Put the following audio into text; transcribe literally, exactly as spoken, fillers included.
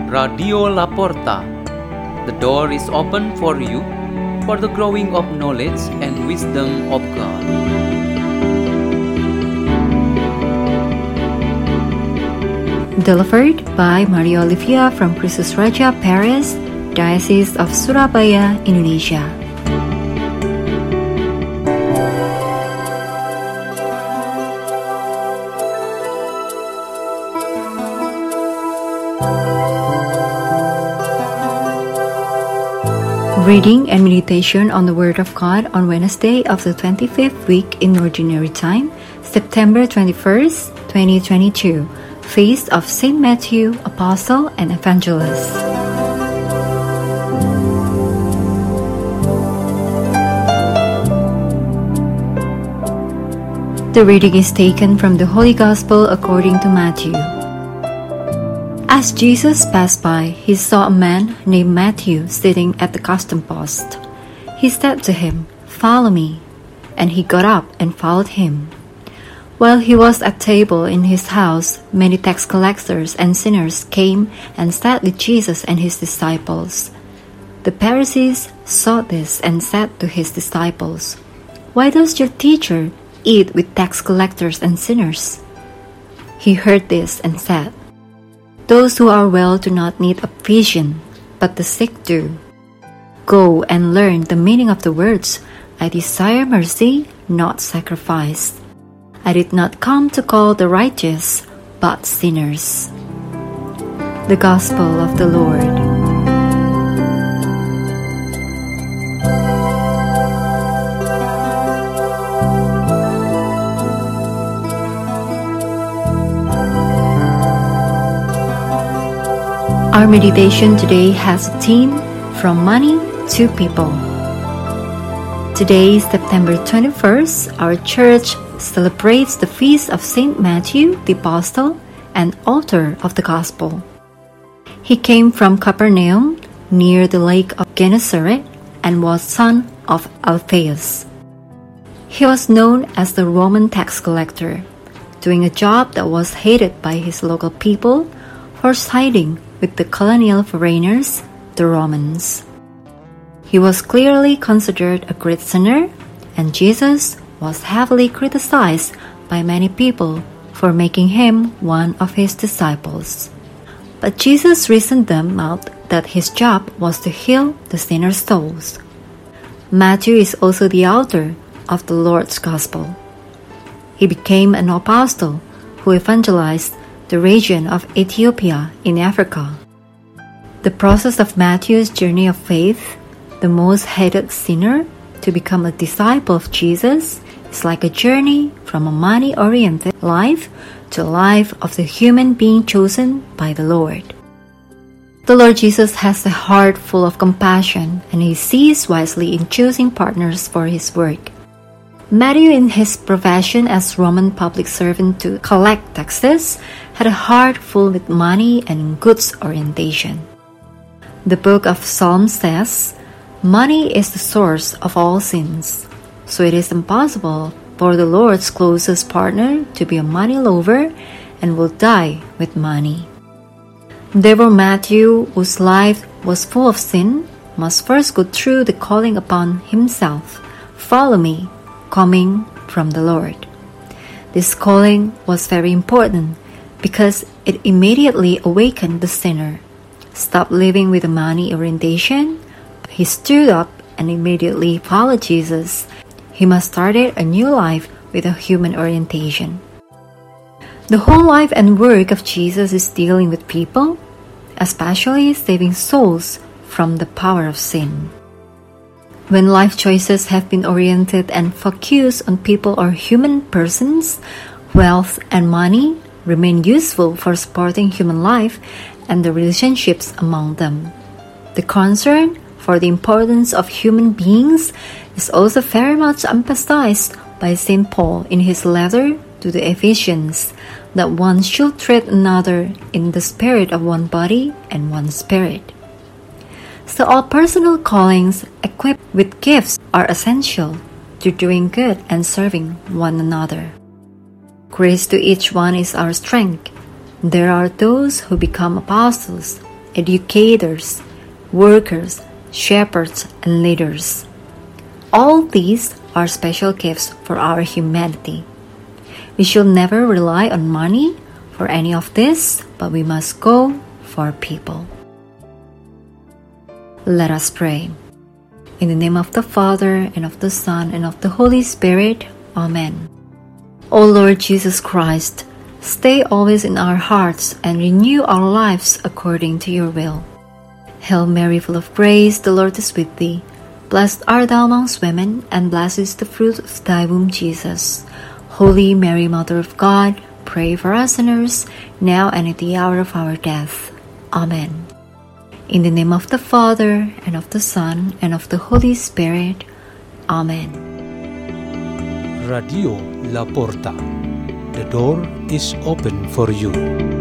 Radio La Porta. The door is open for you for the growing of knowledge and wisdom of God. Delivered by Maria Olivia from Kristus Raja, Paris, Diocese of Surabaya, Indonesia. Reading and meditation on the Word of God on Wednesday of the twenty-fifth week in Ordinary Time, September twenty-first, twenty twenty-two, Feast of Saint Matthew, Apostle and Evangelist. The reading is taken from the Holy Gospel according to Matthew. As Jesus passed by, he saw a man named Matthew sitting at the custom post. He said to him, "Follow me." And he got up and followed him. While he was at table in his house, many tax collectors and sinners came and sat with Jesus and his disciples. The Pharisees saw this and said to his disciples, "Why does your teacher eat with tax collectors and sinners?" He heard this and said, "Those who are well do not need a physician, but the sick do. Go and learn the meaning of the words, 'I desire mercy, not sacrifice.' I did not come to call the righteous, but sinners." The Gospel of the Lord. Our meditation today has a theme, From Money to People. Today, September twenty-first, our church celebrates the feast of Saint Matthew, the Apostle and author of the Gospel. He came from Capernaum, near the lake of Gennesaret, and was son of Alphaeus. He was known as the Roman tax collector, doing a job that was hated by his local people for siding with the colonial foreigners, the Romans. He was clearly considered a great sinner, and Jesus was heavily criticized by many people for making him one of his disciples. But Jesus reasoned them out that his job was to heal the sinners' souls. Matthew is also the author of the Lord's Gospel. He became an apostle who evangelized the region of Ethiopia in Africa. The process of Matthew's journey of faith, the most hated sinner, to become a disciple of Jesus, is like a journey from a money-oriented life to a life of the human being chosen by the Lord. The Lord Jesus has a heart full of compassion, and he sees wisely in choosing partners for his work. Matthew, in his profession as Roman public servant to collect taxes, had a heart full with money and goods orientation. The book of Psalms says, "Money is the source of all sins," so it is impossible for the Lord's closest partner to be a money lover and will die with money. Therefore, Matthew, whose life was full of sin, must first go through the calling upon himself, "Follow me," coming from the Lord. This calling was very important because it immediately awakened the sinner. Stop living with a money orientation. He stood up and immediately followed Jesus. He must start a new life with a human orientation. The whole life and work of Jesus is dealing with people, especially saving souls from the power of sin. When life choices have been oriented and focused on people or human persons, wealth and money remain useful for supporting human life and the relationships among them. The concern for the importance of human beings is also very much emphasized by Saint Paul in his letter to the Ephesians, that one should treat another in the spirit of one body and one spirit. So all personal callings equipped with gifts are essential to doing good and serving one another. Grace to each one is our strength. There are those who become apostles, educators, workers, shepherds, and leaders. All these are special gifts for our humanity. We should never rely on money for any of this, but we must go for people. Let us pray. In the name of the Father, and of the Son, and of the Holy Spirit. Amen. O Lord Jesus Christ, stay always in our hearts and renew our lives according to your will. Hail Mary, full of grace, the Lord is with thee. Blessed art thou amongst women, and blessed is the fruit of thy womb, Jesus. Holy Mary, Mother of God, pray for us sinners, now and at the hour of our death. Amen. In the name of the Father, and of the Son, and of the Holy Spirit. Amen. Radio La Porta. The door is open for you.